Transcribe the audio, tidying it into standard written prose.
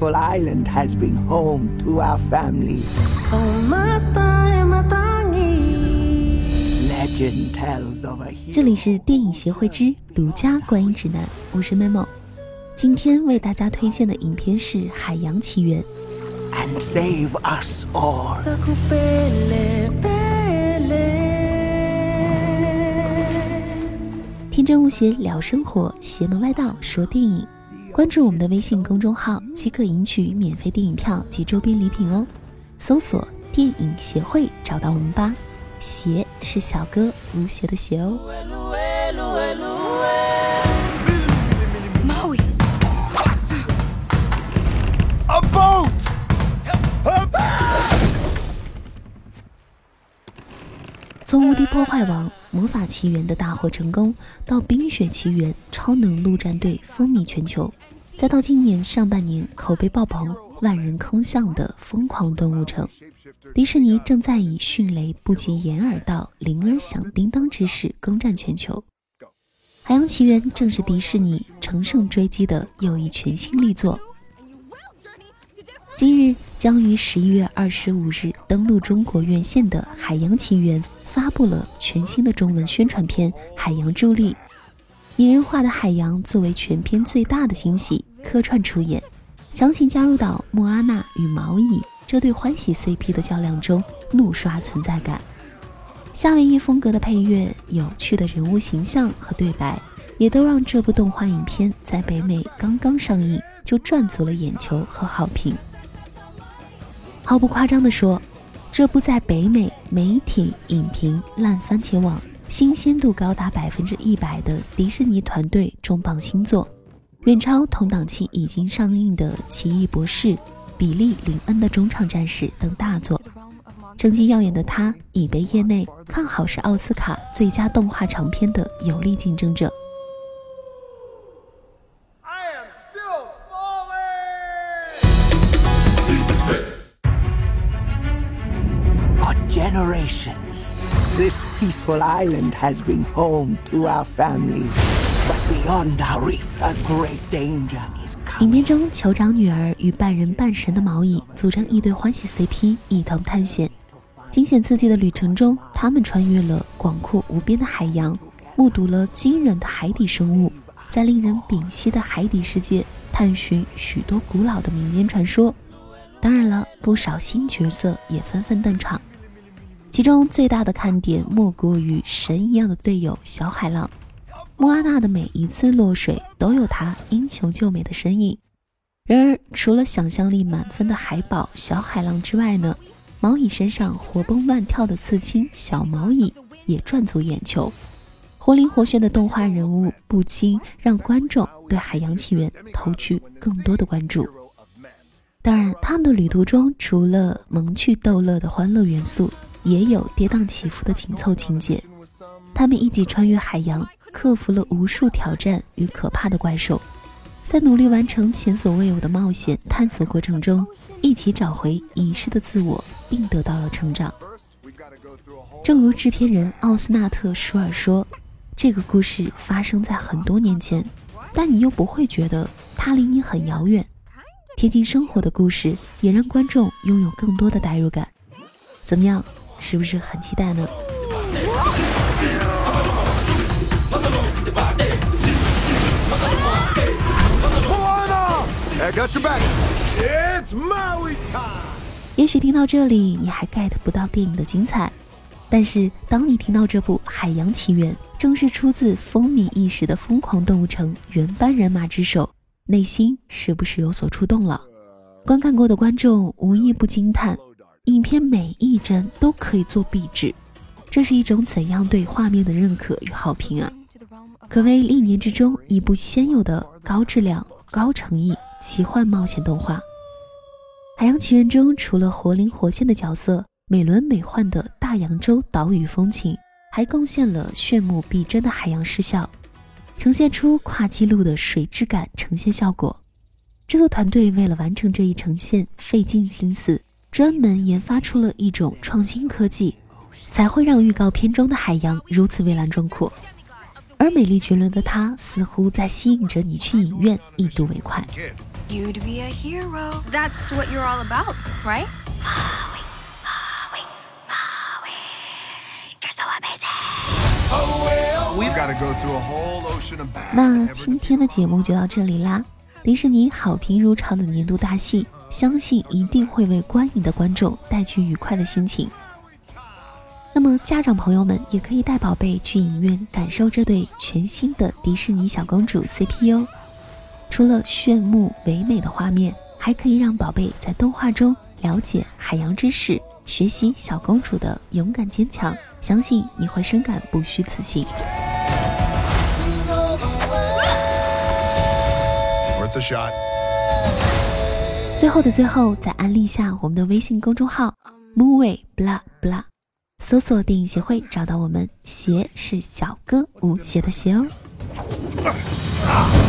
peaceful island has been home to our family. Legend tells of a hero. 这里是电影协会之独家观影指南，我是 Memo。今天为大家推荐的影片是《海洋奇缘》。 And save us all. 天真无邪聊生活，邪门歪道说电影。关注我们的微信公众号即可赢取免费电影票及周边礼品哦。搜索电影协会找到我们吧。邪是小哥无邪的邪哦。 Maui. A boat! 从无敌破坏王、魔法奇缘的大获成功，到冰雪奇缘、超能陆战队风靡全球，再到今年上半年口碑爆棚、万人空巷的疯狂动物城，迪士尼正在以迅雷不及掩耳盗、铃儿响叮当之势攻占全球。海洋奇缘正是迪士尼乘胜追击的又一全新力作。今日将于11月25日登陆中国院线的《海洋奇缘》发布了全新的中文宣传片《海洋助力》，拟人化的海洋作为全片最大的惊喜客串出演，强行加入到莫阿娜与毛蚁这对欢喜 CP 的较量中，怒刷存在感。夏威夷风格的配乐、有趣的人物形象和对白，也都让这部动画影片在北美刚刚上映就赚足了眼球和好评。毫不夸张地说，这部在北美媒体、影评、烂番茄网新鲜度高达100%的迪士尼团队重磅新作，远超同档期已经上映的《奇异博士》、比利·林恩的中场战士等大作。成绩耀眼的他已被业内看好是奥斯卡最佳动画长片的有力竞争者。 Generations, this peaceful island has been home to our family. But beyond our reef, a great danger is 影 coming. 片中，酋长女儿与半人半神的毛蚁组成一对欢喜 CP， 一同探险。惊险刺激的旅程中，他们穿越了广阔无边的海洋，目睹了惊人的海底生物，在令人屏息的海底世界探寻许多古老的民间传说。当然了，不少新角色也纷纷登场。其中最大的看点莫过于神一样的队友小海浪。莫阿娜的每一次落水都有她英雄救美的身影。然而除了想象力满分的海宝小海浪之外呢，毛蚁身上活蹦乱跳的刺青小毛蚁也赚足眼球。活灵活现的动画人物不禁让观众对海洋奇缘投去更多的关注。当然，他们的旅途中除了萌趣逗乐的欢乐元素，也有跌宕起伏的紧凑情节。他们一起穿越海洋，克服了无数挑战与可怕的怪兽，在努力完成前所未有的冒险探索过程中，一起找回遗失的自我，并得到了成长。正如制片人奥斯纳特·舒尔说，这个故事发生在很多年前，但你又不会觉得它离你很遥远。贴近生活的故事也让观众拥有更多的代入感。怎么样，是不是很期待呢？也许听到这里你还 get 不到电影的精彩，但是当你听到这部《海洋奇缘》正是出自风靡一时的疯狂动物城原班人马之手，内心是不是有所触动了？观看过的观众无一不惊叹，影片每一帧都可以做壁纸，这是一种怎样对画面的认可与好评啊！可谓历年之中一部鲜有的高质量、高诚意奇幻冒险动画。海洋奇缘中除了活灵活现的角色、美轮美奂的大洋洲岛屿风情，还贡献了炫目逼真的海洋视效，呈现出跨纪录的水质感呈现效果。制作团队为了完成这一呈现费尽心思，专门研发出了一种创新科技，才会让预告片中的海洋如此蔚蓝壮阔。而美丽绝伦的她似乎在吸引着你去影院一睹为快。 You'd be a hero. That's what you're all about, right? You're so amazing. We've got to go through a whole ocean of bad. 那今天的节目就到这里啦。迪士尼好评如潮的年度大戏，相信一定会为观影的观众带去愉快的心情。那么家长朋友们也可以带宝贝去影院感受这对全新的迪士尼小公主 CP 哦。除了炫目唯美的画面，还可以让宝贝在动画中了解海洋知识，学习小公主的勇敢坚强，相信你会深感不虚此行。 Worth a shot. 最后的最后，再安利下我们的微信公众号 Movie blah blah， 搜索电影协会找到我们，鞋是小哥无鞋的鞋哦。